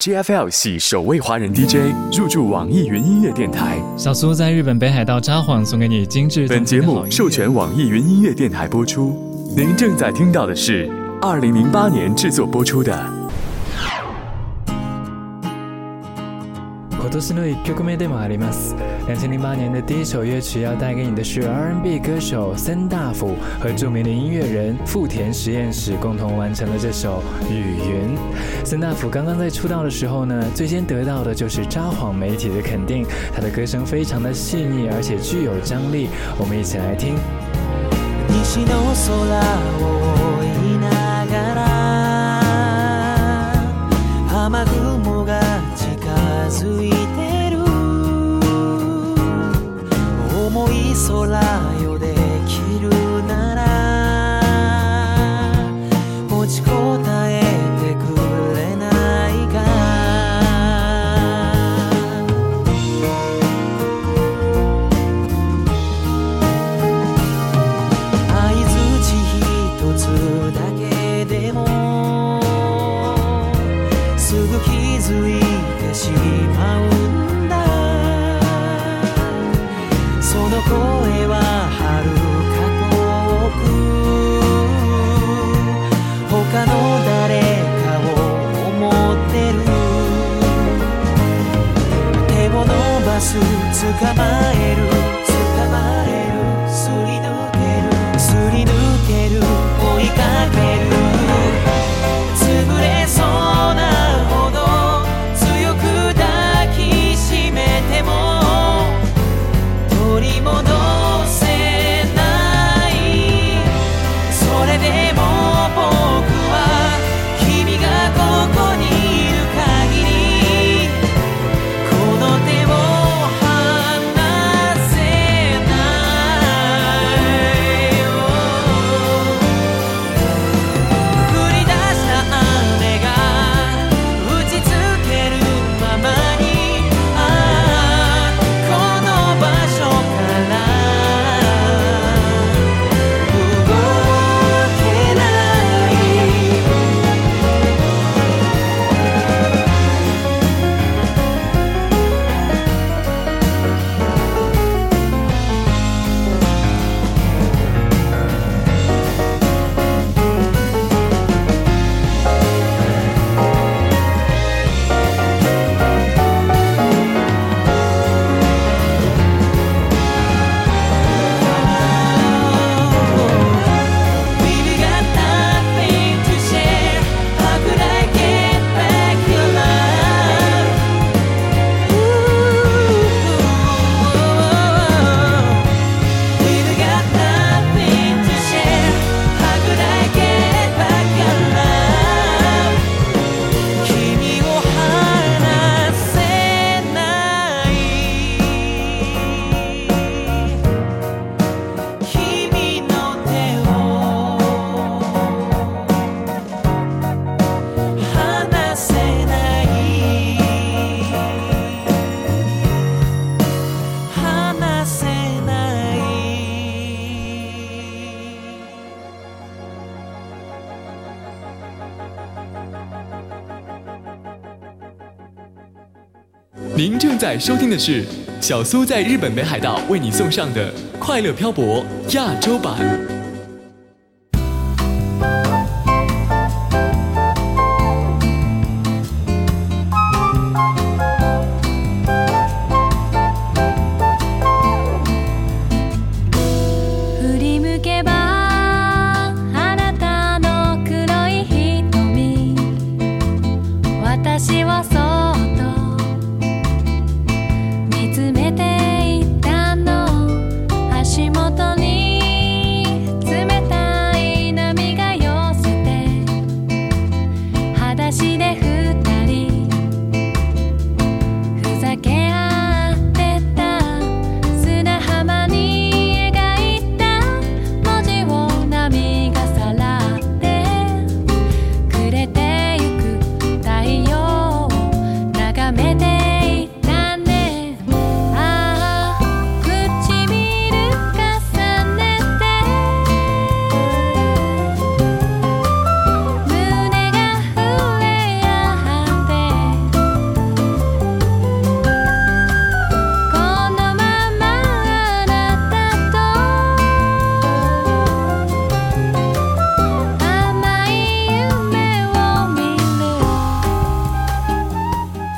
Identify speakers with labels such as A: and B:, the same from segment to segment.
A: GFL 系首位华人 DJ 入驻网易云音乐电台。
B: 小苏在日本北海道札幌送给你精致。
A: 本节目授权网易云音乐电台播出。您正在听到的是2008年制作播出的。
B: 今年の1曲目でもあります。2008年的第一首乐曲要带给你的是 R&B 歌手森大辅和著名的音乐人富田实验室共同完成了这首《雨云》。森大辅刚刚在出道的时候呢，最先得到的就是札幌媒体的肯定，他的歌声非常的细腻，而且具有张力。我们一起来听。
C: 西の空を追いながら雨雲が近づいてる重い空よできるなら持ちこたえてくれないか相づち一つだけでもすぐ気づいてしまうんだその声は遥か遠く他の誰かを思ってる手を伸ばす捕まえるすり抜ける追いかける潰れそうなほど強く抱きしめても取り戻せないそれでも僕は君がここにいる限りこの手を離せない降り出した雨が打ちつけるままにこの場所から動けないWe've got nothing to share. How could I get back your love? We've got nothing to share. How could I get back your love? 君を離せない君の手を離せない離せない
A: 您正在收听的是小苏在日本北海道为你送上的快乐漂泊亚洲版。
D: 振り向けばあなたの黒い瞳私をそっと見つめていたの足元に冷たい波が寄せて裸足で二人ふざけ合ってた砂浜に描いた文字を波がさらってくれてゆく太陽を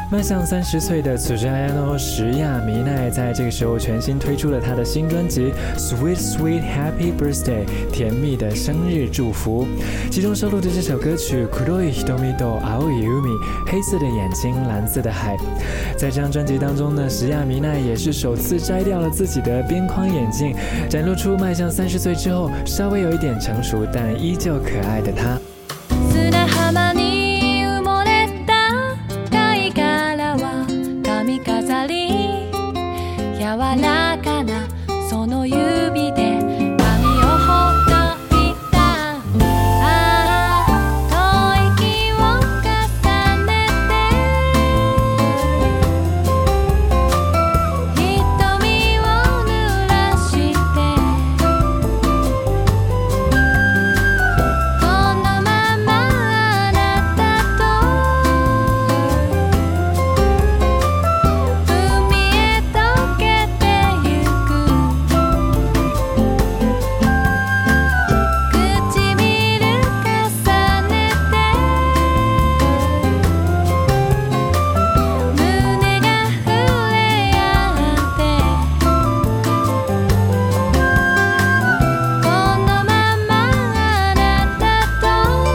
B: 迈向30岁的土屋綾乃石亚弥奈在这个时候全新推出了她的新专辑 Sweet Sweet Happy Birthday 甜蜜的生日祝福，其中收录的这首歌曲黒い瞳と青い海黑色的眼睛蓝色的海。在这张专辑当中呢，石亚弥奈也是首次摘掉了自己的边框眼镜，展露出迈向30岁之后稍微有一点成熟但依旧可爱的她。
D: 砂浜に埋もれた貝殻は髪飾り柔らかなその指で髪をほどいた吐息を重ねて瞳を濡らしてこのままあなたと海へ溶けてゆく唇重ねて胸が触れ合ってこのままあなたと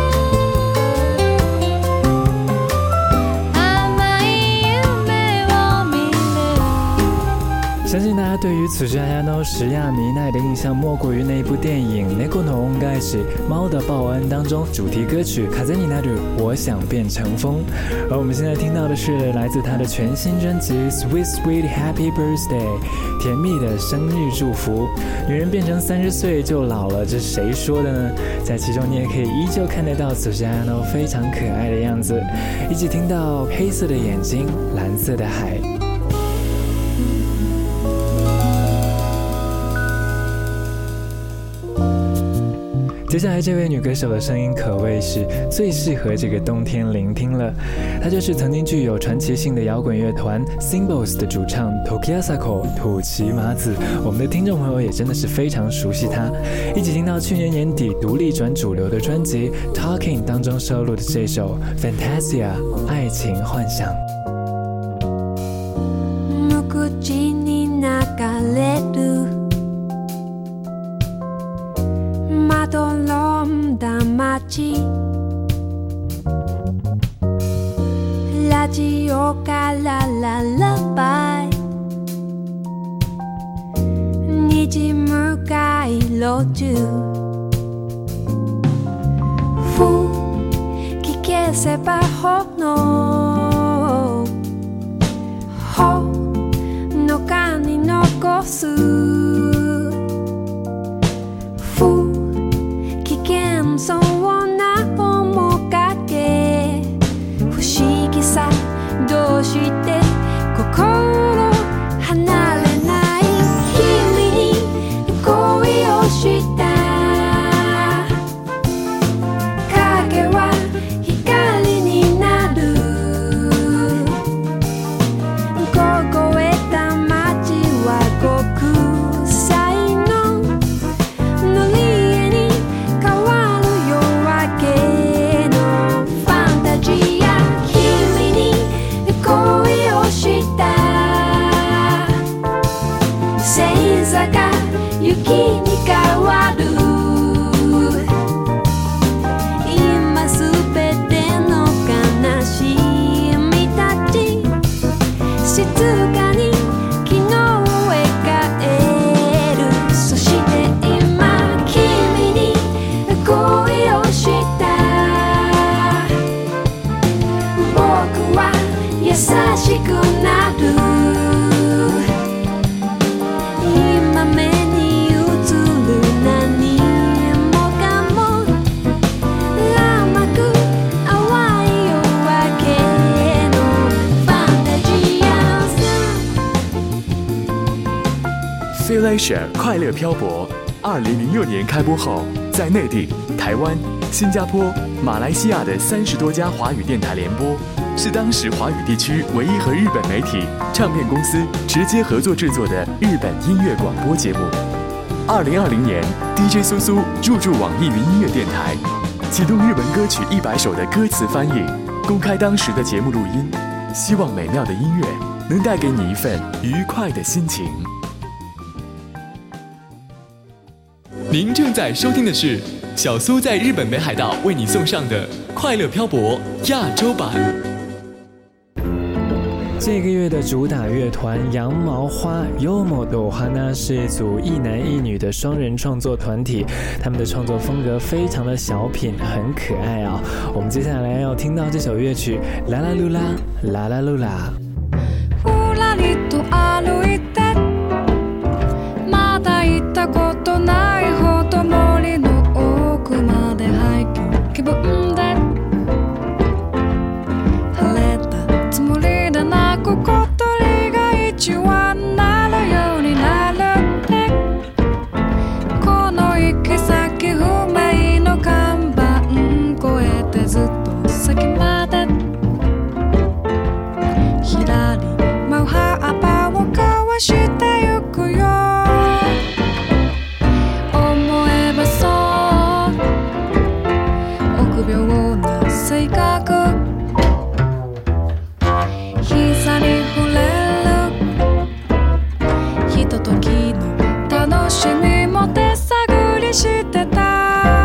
D: 甘い夢を見る。
B: 相信大家对于土屋綾乃石亚弥奈的印象莫过于那一部电影《猫の恩返し》猫的报恩当中主题歌曲風になる我想变成风。而我们现在听到的是来自她的全新专辑 Sweet Sweet Happy Birthday 甜蜜的生日祝福。女人变成30岁就老了，这是谁说的呢？在其中你也可以依旧看得到土屋綾乃非常可爱的样子，一起听到黑色的眼睛蓝色的海。接下来这位女歌手的声音可谓是最适合这个冬天聆听了，她就是曾经具有传奇性的摇滚乐团 Symbols 的主唱 Toki Asako 土岐麻子。我们的听众朋友也真的是非常熟悉她，一起听到去年年底独立转主流的专辑 Talking 当中收录的这首 Fantasia 爱情幻想。
E: 無口に流れるまどろんだ街ラジオからララバイ虹向かい路中吹き消せば炎ほのかに残す危険そうな面影不思議さどうして心離れない君に恋をした影は光になる凍えた街は極彩の塗り絵に変わる夜明けのファンタジア君に恋をした星座が雪に変わる今すべての悲しみたち静かに昨日へ帰るそして今君に恋をした僕は優しくなる今目に映る何もかも甘く淡い夜明けのファンタジアさ
A: C Leisure 快乐漂泊2006年开播后，在内地、台湾、新加坡、马来西亚的30多家华语电台联播，是当时华语地区唯一和日本媒体、唱片公司直接合作制作的日本音乐广播节目。2020年 ，DJ 苏苏入驻网易云音乐电台，启动日文歌曲100首的歌词翻译，公开当时的节目录音。 希望美妙的音乐能带给你一份愉快的心情。您正在收听的是小苏在日本北海道为你送上的快乐漂泊亚洲版。
B: 这个月的主打乐团羊毛花 Yomodo Hana 是一组一男一女的双人创作团体，他们的创作风格非常的小品，很可愛啊。我们接下来要听到这首乐曲啦啦噜啦啦啦噜啦。
E: ふらりと歩いてまだ行ったことないほど森の奥までハイキング気分で晴れたつもりだな小鳥が一羽なるようになるってこの行き先不明の看板越えてずっと先までひらり舞う葉を交わしてゆくよ思えばそう臆病な性格膝に触れるひとときの楽しみも手探りしてた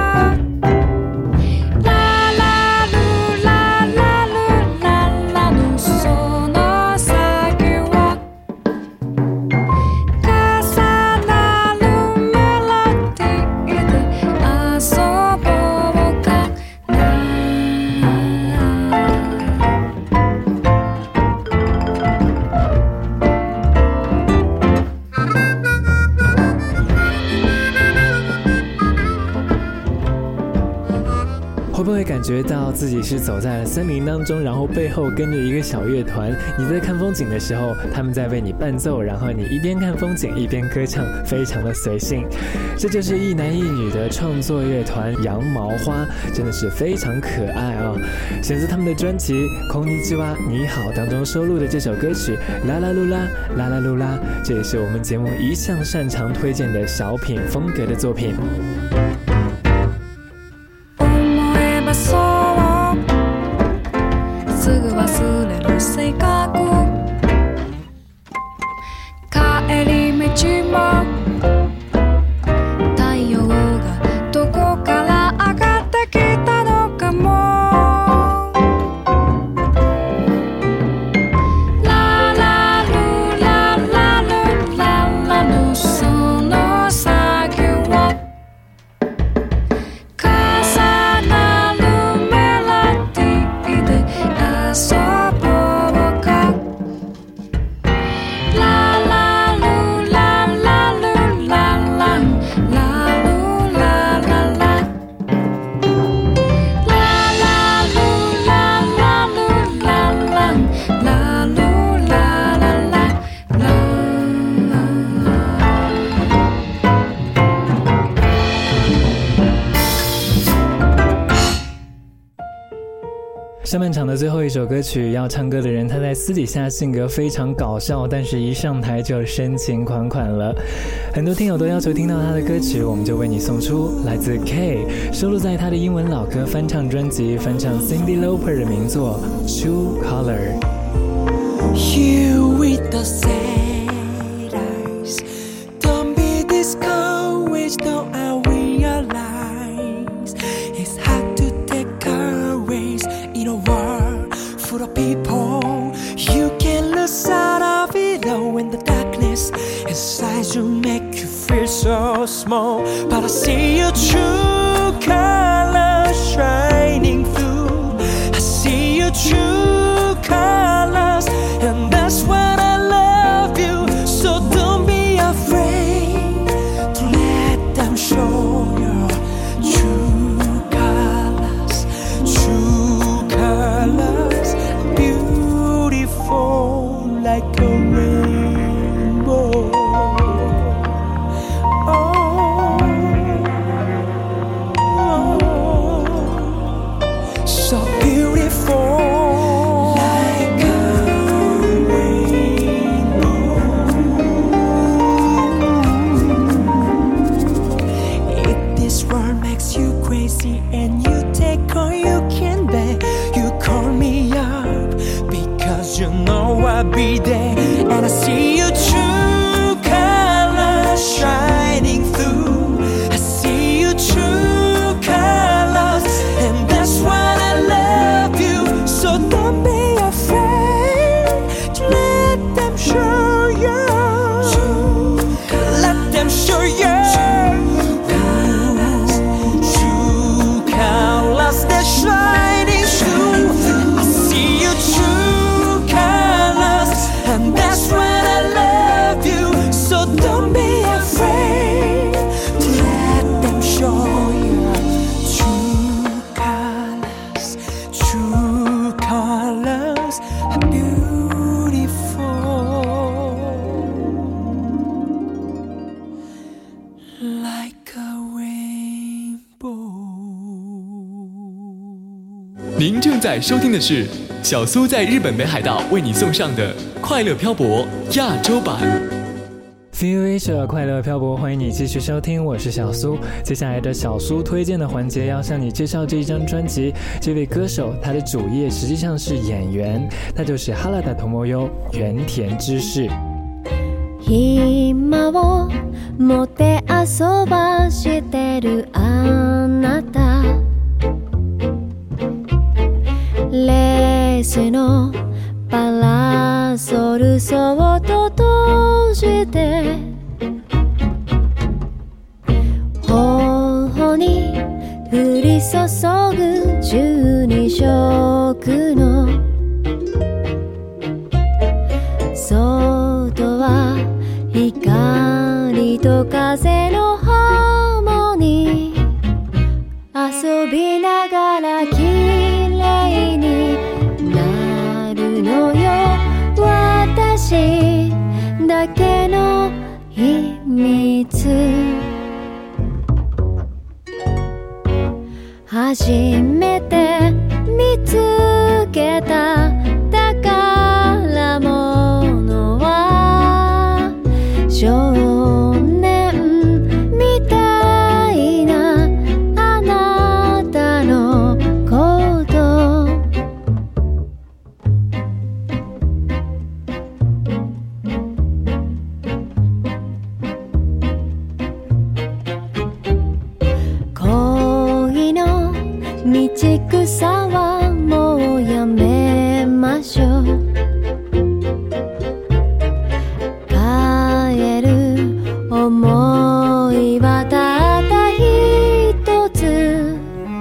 B: 会不会感觉到自己是走在了森林当中，然后背后跟着一个小乐团，你在看风景的时候他们在为你伴奏，然后你一边看风景一边歌唱，非常的随性。这就是一男一女的创作乐团羊毛花，真的是非常可爱啊。选择他们的专辑《こんにちは你好》当中收录的这首歌曲啦啦噜啦啦啦噜啦，这也是我们节目一向擅長推荐的小品风格的作品。
E: すぐ忘れる性格帰り道も太陽がどこから上がってきたのかもララルララルララルその先を重なるメロディーで遊ぼうかララルララルラランラルラララララルララルラランラルララララ
B: 上半场的最后一首歌曲，要唱歌的人他在私底下性格非常搞笑，但是一上台就深情款款了。很多听友都要求听到他的歌曲，我们就为你送出来自 K 收录在他的英文老歌翻唱专辑，翻唱 Cyndi Lauper 的名作 True Color。
C: You with the sad eyes, don't be discouraged, though I realize it's hard to take courage in a world full of people. You can lose sight of it all when the darkness inside you make you feel so small. But I see your true colors shining through. I see your true colors, and that's when I love you. So don't be afraid to let them show your true colors. True colors, beautiful like a rainbow. So beautiful like 'cause you know I'll be there. And I see your true colors shining through. I see your true colors, and that's why I love you. So don't be afraid to let them show you. Let them show you true colors that shining through. I see your true colors, and that's when I love you. So don't be afraid to let them show you true colors. True colors are beautiful like a rainbow.
A: 您正在收听的是小苏在日本北海道为你送上的快乐漂泊亚洲版。
B: Feel Asia 快乐漂泊，欢迎你继续收听，我是小苏。接下来的小苏推荐的环节要向你介绍这一张专辑。这位歌手他的主业实际上是演员，他就是原田知世原田知世。
D: 暇を持て遊ばしてるあなた、レースのパラソルそっと閉じて、頬に降り注ぐ12色の外は光と風のハーモニー、遊びながら綺麗になるのよ、私だけの秘密。初めて見つけた宝物は少年みたいなあなたのこと。恋の道草はもうやめましょう。帰る思いはたった一つ。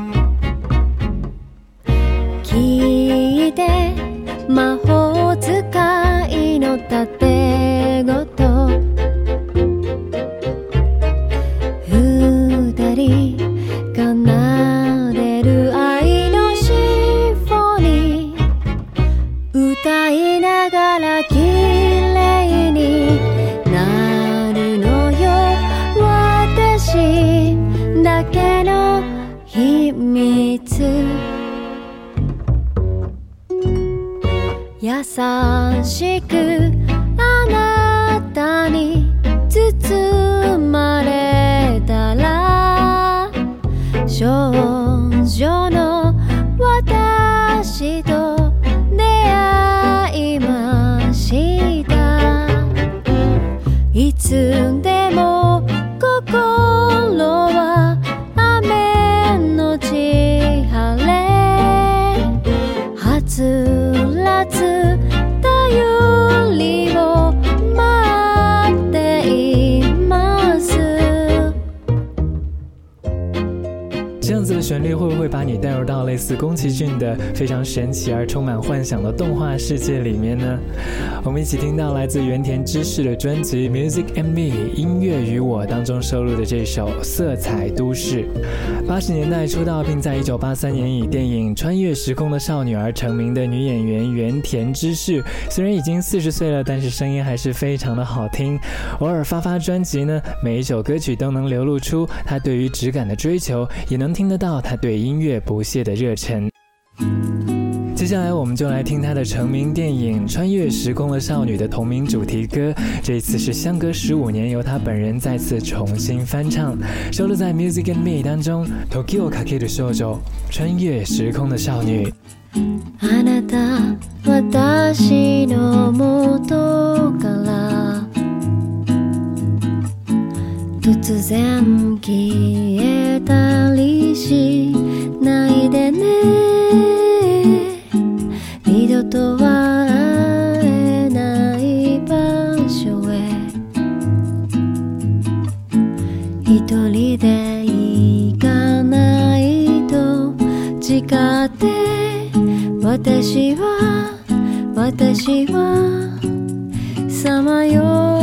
D: 聞いて魔法使いのたてごと、二人奏でる愛のシンフォニー、歌いながら綺麗になるのよ、私だけの秘密。優しくあなたに包まれたら、少女の私と出会いました。いつでも心は雨のち晴れ、はつらつ頼りを待っています。
B: 这样子的旋律会不会把你带入到类似宫崎骏的非常神奇而充满幻想的动画世界里面呢？我们一起听到来自原田知世的专辑 Music and Me 音乐与我当中收录的这首色彩都市。80年代出道并在1983年以电影穿越时空的少女而成名的女演员原田知世，虽然已经40岁了，但是声音还是非常的好听。偶尔发专辑呢，每一首歌曲都能流露出她对于质感的追求，也能听得到她对音乐不懈的热忱。接下来我们就来听她的成名电影《穿越时空的少女》的同名主题歌，这一次是相隔15年由她本人再次重新翻唱，收录在 Music and Me 当中。時をかける少女，穿越时空的少女。
D: あなた私私はさまよう